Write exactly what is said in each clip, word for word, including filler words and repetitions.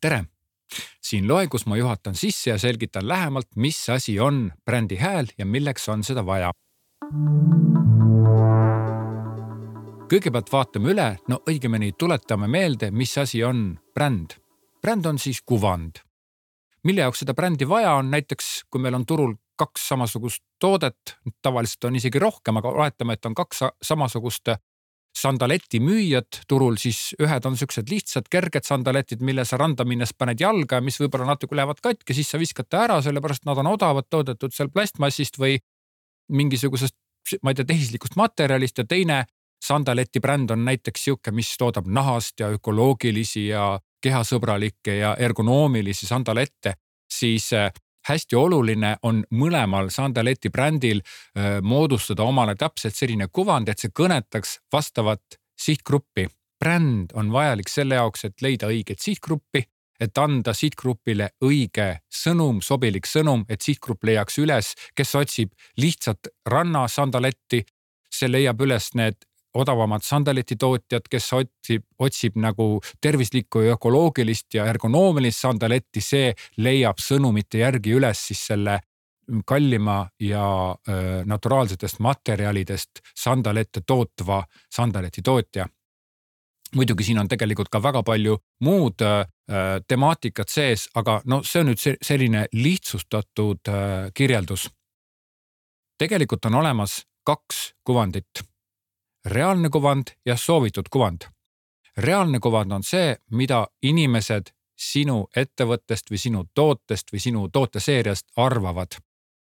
tere! Siin loengus ma juhatan sisse ja selgitan lähemalt, mis asi on brändi hääl ja milleks on seda vaja. Kõigepealt vaatame üle, no õigemini tuletame meelde, mis asi on bränd. Bränd on siis kuvand. Mille jaoks seda brändi vaja on, näiteks kui meil on turul kaks samasugust toodet, tavaliselt on isegi rohkem, aga oletame, et on kaks samasugust sandaletti müüjad turul, siis ühed on sellised lihtsad, kerged sandaletid, mille sa randa minnes paned jalga, mis võib-olla natuke lähevad katki, siis sa viskad ta ära, sellepärast nad on odavad toodetud seal plastmassist või mingisugusest, ma ei tea, tehislikust materjalist ja teine sandaleti bränd on näiteks siuke, mis toodab nahast ja ökoloogilisi ja kehasõbralikke ja ergonoomilisi sandalette, siis hästi oluline on mõlemal sandaleti brändil äh, moodustada omale täpselt selline kuvand, et see kõnetaks vastavat sihtgruppi. Bränd on vajalik selle jaoks, et leida õiget sihtgruppi, et anda sihtgrupile õige sõnum, sobilik sõnum, et sihtgrupp leiaks üles, kes otsib lihtsalt ranna sandaletti, see leiab üles need odavamad sandaleti tootjad, kes otsib, otsib nagu tervislikku ja ökoloogilist ja ergonoomilist sandaletti, see leiab sõnumite järgi üles siis selle kallima ja äh, naturaalsetest materjalidest sandalette tootva sandaleti tootja. Muidugi siin on tegelikult ka väga palju muud äh, temaatikat sees, aga no see on nüüd selline lihtsustatud äh, kirjeldus. Tegelikult on olemas kaks kuvandit. Reaalne kuvand ja soovitud kuvand. Reaalne kuvand on see, mida inimesed sinu ettevõttest või sinu tootest või sinu tooteseeriast arvavad.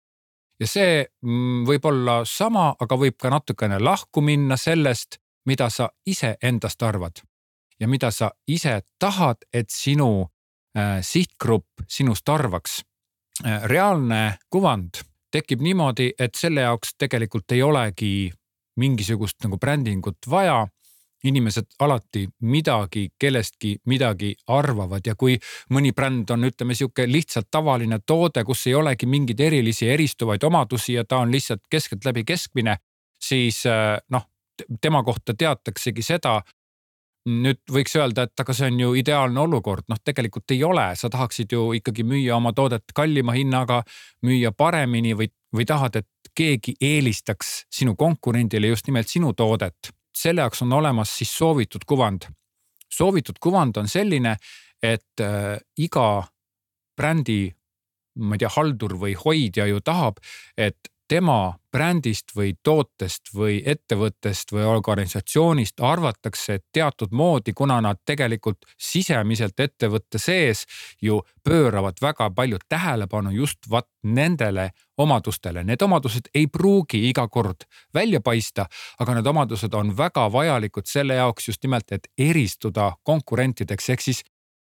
Ja see võib olla sama, aga võib ka natukene lahku minna sellest, mida sa ise endast arvad ja mida sa ise tahad, et sinu äh, sihtgrupp sinust arvaks. Äh, reaalne kuvand tekib niimoodi, et selle jaoks tegelikult ei olegi mingisugust nagu brändingut vaja. Inimesed alati midagi, kellestki midagi arvavad ja kui mõni bränd on, ütleme, siuke lihtsalt tavaline toode, kus ei olegi mingeid erilisi eristuvaid omadusi ja ta on lihtsalt keskelt läbi keskmine, siis noh, tema kohta teataksegi seda. Nüüd võiks öelda, et aga see on ju ideaalne olukord. Noh, tegelikult ei ole. Sa tahaksid ju ikkagi müüa oma toodet kallima hinnaga, müüa paremini või, või tahad, et keegi eelistaks sinu konkurendile just nimelt sinu toodet. Selle jaoks on olemas siis soovitud kuvand. Soovitud kuvand on selline, et äh, iga brändi, ma ei tea, haldur või hoidja ju tahab, et tema brändist või tootest või ettevõttest või organisatsioonist arvatakse teatud moodi, kuna nad tegelikult sisemiselt ettevõtte sees ju pööravad väga palju tähelepanu just vat nendele omadustele. Need omadused ei pruugi iga kord välja paista, aga need omadused on väga vajalikud selle jaoks just nimelt, et eristuda konkurentideks. Ehk siis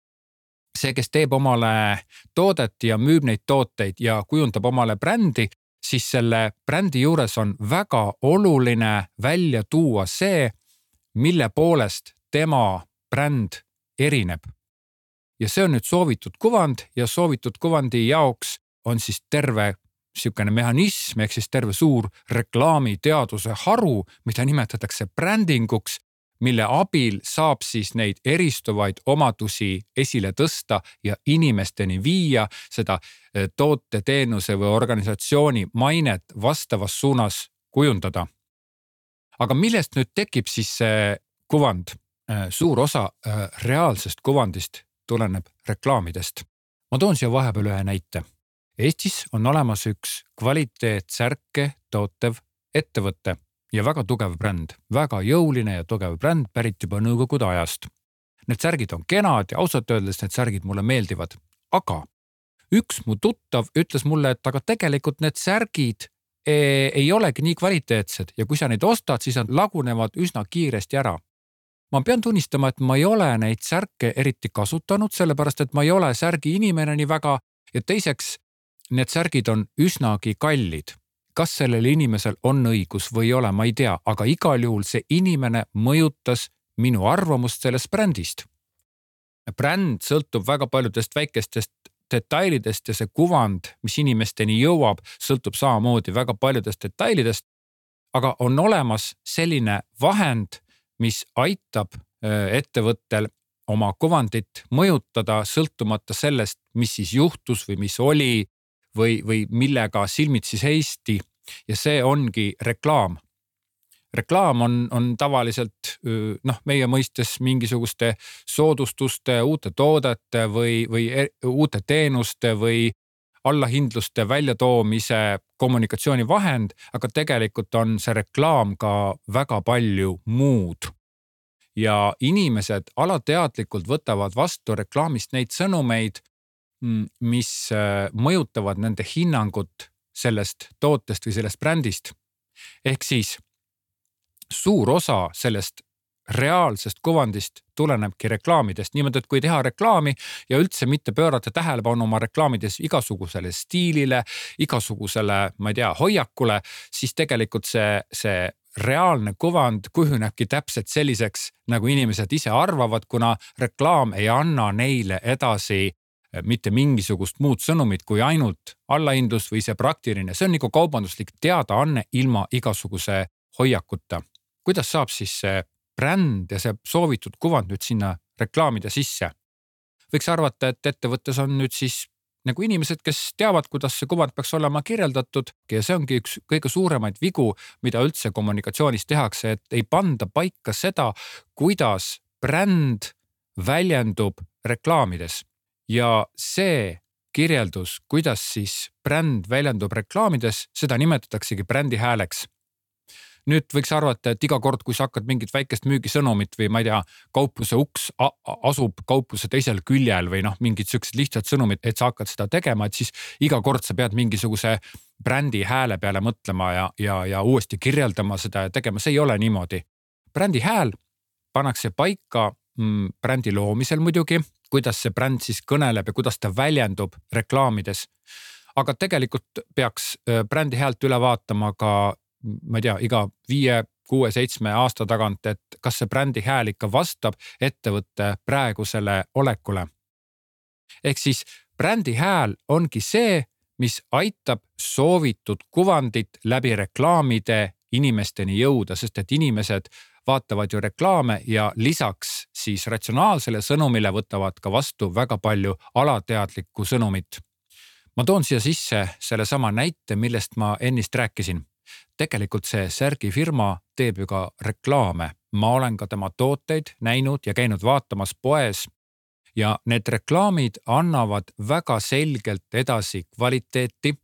see, kes teeb omale toodet ja müüb neid tooteid ja kujundab omale brändi, siis selle brändi juures on väga oluline välja tuua see, mille poolest tema bränd erineb. Ja see on nüüd soovitud kuvand ja soovitud kuvandi jaoks on siis terve siukene mehhanism, ehk siis terve suur reklaamiteaduse haru, mida nimetatakse brändinguks, mille abil saab siis neid eristuvaid omadusi esile tõsta ja inimesteni viia seda toote, teenuse või organisatsiooni mainet vastavas suunas kujundada. Aga millest nüüd tekib siis see kuvand? Suur osa reaalsest kuvandist tuleneb reklaamidest. Ma toon siia vahepeal ühe näite. Eestis on olemas üks kvaliteetsärke tootev ettevõtte ja väga tugev bränd, väga jõuline ja tugev bränd pärit juba nõukogude ajast. Need särgid on kenad ja ausalt öeldes need särgid mulle meeldivad. Aga üks mu tuttav ütles mulle, et aga tegelikult need särgid ei olegi nii kvaliteetsed ja kui sa neid ostad, siis nad lagunevad üsna kiiresti ära. Ma pean tunnistama, et ma ei ole neid särke eriti kasutanud, sellepärast et ma ei ole särgi inimene nii väga ja teiseks need särgid on üsnagi kallid. Kas sellel inimesel on õigus või ei ole, ma ei tea, aga igal juhul see inimene mõjutas minu arvamust sellest brändist. Bränd sõltub väga paljudest väikestest detailidest ja see kuvand, mis inimesteni jõuab, sõltub samamoodi väga paljudest detailidest, aga on olemas selline vahend, mis aitab ettevõttel oma kuvandit mõjutada sõltumata sellest, mis siis juhtus või mis oli või, või millega silmitsi seisti. Ja see ongi reklaam. Reklaam on, on tavaliselt noh, meie mõistes mingisuguste soodustuste, uute toodete või, või uute teenuste või allahindluste väljatoomise kommunikatsiooni vahend, aga tegelikult on see reklaam ka väga palju muud. Ja inimesed alateadlikult võtavad vastu reklaamist neid sõnumeid, mis mõjutavad nende hinnangut sellest tootest või sellest brändist. Ehk siis suur osa sellest reaalsest kuvandist tulenebki reklaamidest. Niimoodi, et kui teha reklaami ja üldse mitte pöörata tähelepanu oma reklaamides igasugusele stiilile, igasugusele, ma ei tea, hoiakule, siis tegelikult see, see reaalne kuvand kujunebki täpselt selliseks, nagu inimesed ise arvavad, kuna reklaam ei anna neile edasi mitte mingisugust muud sõnumit kui ainult allahindlus või see praktiline. See on nagu kaubanduslik teadaanne ilma igasuguse hoiakuta. Kuidas saab siis see bränd ja see soovitud kuvand nüüd sinna reklaamide sisse? Võiks arvata, et ettevõttes on nüüd siis nagu inimesed, kes teavad, kuidas see kuvand peaks olema kirjeldatud ja see ongi üks kõige suuremaid vigu, mida üldse kommunikatsioonis tehakse, et ei panda paika seda, kuidas bränd väljendub reklaamides. Ja see kirjeldus, kuidas siis bränd väljendub reklaamides, seda nimetataksegi brändi hääleks. Nüüd võiks arvata, et iga kord, kui sa hakkad mingit väikest müügisõnumit või ma ei tea, kaupluse uks asub kaupluse teisel küljel või noh, mingid sellised lihtsad sõnumid, et sa hakkad seda tegema, et siis iga kord sa pead mingisuguse brändi hääle peale mõtlema ja, ja, ja uuesti kirjeldama seda ja tegema. See ei ole niimoodi. Brändi hääl pannakse paika mm, brändi loomisel muidugi, kuidas see bränd siis kõneleb ja kuidas ta väljendub reklaamides. Aga tegelikult peaks brändi häält üle vaatama ka ma ei tea, iga viie, kuue, seitsme aasta tagant, et kas see brändi hääl ikka vastab ettevõtte praegusele olekule. Ehk siis brändi hääl ongi see, mis aitab soovitud kuvandit läbi reklaamide inimesteni jõuda, sest et inimesed vaatavad ju reklaame ja lisaks siis ratsionaalsele sõnumile võtavad ka vastu väga palju alateadlikku sõnumit. Ma toon siia sisse selle sama näite, millest ma ennist rääkisin. Tegelikult see Särgi firma teeb ju ka reklaame. Ma olen ka tema tooteid näinud ja käinud vaatamas poes ja need reklaamid annavad väga selgelt edasi kvaliteeti,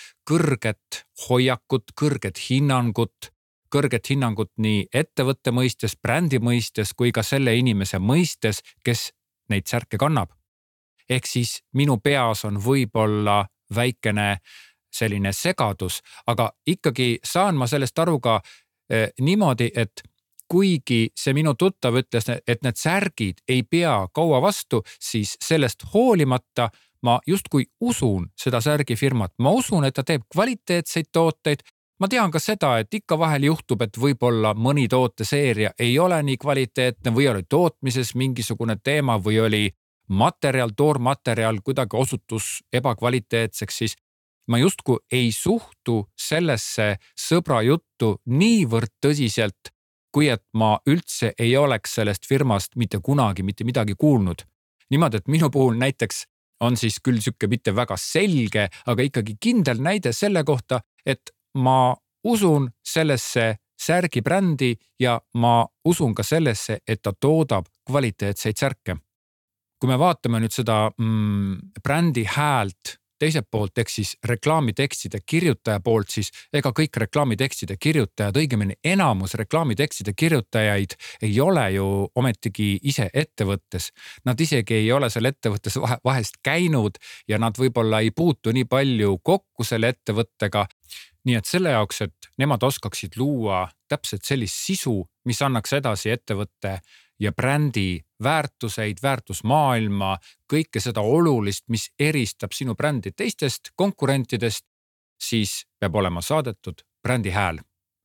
kõrget hoiakut, kõrget hinnangut, kõrget hinnangut nii ettevõtte mõistes, brändi mõistes kui ka selle inimese mõistes, kes neid särke kannab. Ehk siis minu peas on võib-olla väikene selline segadus, aga ikkagi saan ma sellest aru ka eh, niimoodi, et kuigi see minu tuttav ütles, et need särgid ei pea kaua vastu, siis sellest hoolimata ma justkui usun seda särgifirmat. Ma usun, et ta teeb kvaliteetseid tooteid. Ma tean ka seda, et ikka vahel juhtub, et võib-olla mõni tooteseeria ei ole nii kvaliteetne või oli tootmises mingisugune teema või oli materjal, toormaterjal kuidagi osutus ebakvaliteetseks, siis ma justku ei suhtu sellesse sõbra juttu niivõrd tõsiselt, kui et ma üldse ei oleks sellest firmast mitte kunagi mitte midagi kuulnud. Niimoodi, et minu puhul näiteks on siis küll siuke mitte väga selge, aga ikkagi kindel näide selle kohta, et ma usun sellesse Särgi brändi ja ma usun ka sellesse, et ta toodab kvaliteetseid särke. Kui me vaatame nüüd seda mm, brändi häält teiselt poolt, ehk siis reklaamitekstide kirjutaja poolt, siis ega kõik reklaamitekstide kirjutajad, õigemini enamus reklaamitekstide kirjutajaid ei ole ju ometigi ise ettevõttes. Nad isegi ei ole seal ettevõttes vahest käinud ja nad võib-olla ei puutu nii palju kokku selle ettevõttega. Nii et selle jaoks, et nemad oskaksid luua täpselt sellist sisu, mis annaks edasi ettevõtte ja brändi väärtuseid, väärtusmaailma, kõike seda olulist, mis eristab sinu brändi teistest konkurentidest, siis peab olema saadetud brändi hääl.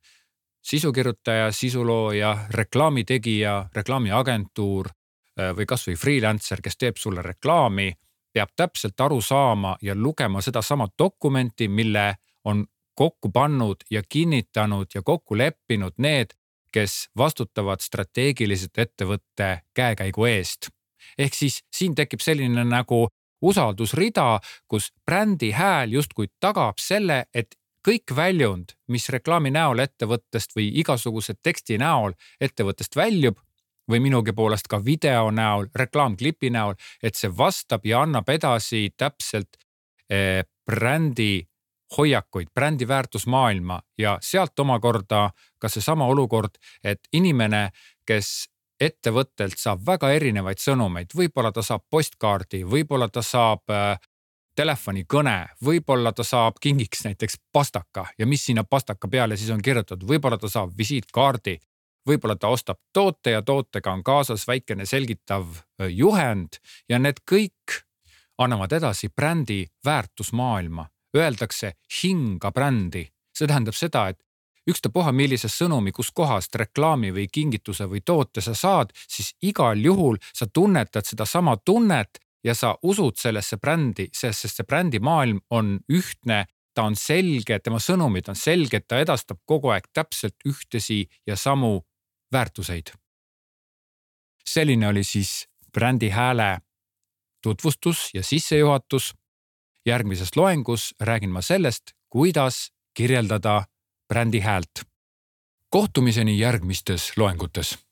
Sisukirjutaja, sisulooja, reklaamitegija, reklaamiagentuur või kas või freelancer, kes teeb sulle reklaami, peab täpselt aru saama ja lugema seda sama dokumenti, mille on kokku pannud ja kinnitanud ja kokku leppinud need, kes vastutavad strateegiliselt ettevõtte käekäigu eest. Ehk siis siin tekib selline nagu usaldusrida, kus brändi hääl justkui tagab selle, et kõik väljund, mis reklaami näol ettevõttest või igasuguse teksti näol ettevõttest väljub või minugi poolest ka video näol, reklaamklipi näol, et see vastab ja annab edasi täpselt eh, brändi hoiakuid, brändi väärtusmaailma ja sealt omakorda ka see sama olukord, et inimene, kes ettevõttelt saab väga erinevaid sõnumeid, võib-olla ta saab postkaardi, võib-olla ta saab äh, telefonikõne, võib-olla ta saab kingiks näiteks pastaka ja mis sinna pastaka peale siis on kirjutatud, võib-olla ta saab visiitkaardi, võib-olla ta ostab toote ja tootega on kaasas väikene selgitav juhend ja need kõik annavad edasi brändi väärtusmaailma. Öeldakse hinga brändi. See tähendab seda, et ükstapuha millise sõnumi, kus kohast reklaami või kingituse või toote sa saad, siis igal juhul sa tunnetad seda sama tunnet ja sa usud sellesse brändi, sest see brändi maailm on ühtne, ta on selge, tema sõnumid on selged, ta edastab kogu aeg täpselt ühtesi ja samu väärtuseid. Selline oli siis brändi hääle tutvustus ja sissejuhatus. Järgmises loengus räägin ma sellest, kuidas kirjeldada brändi häält. Kohtumiseni järgmistes loengutes.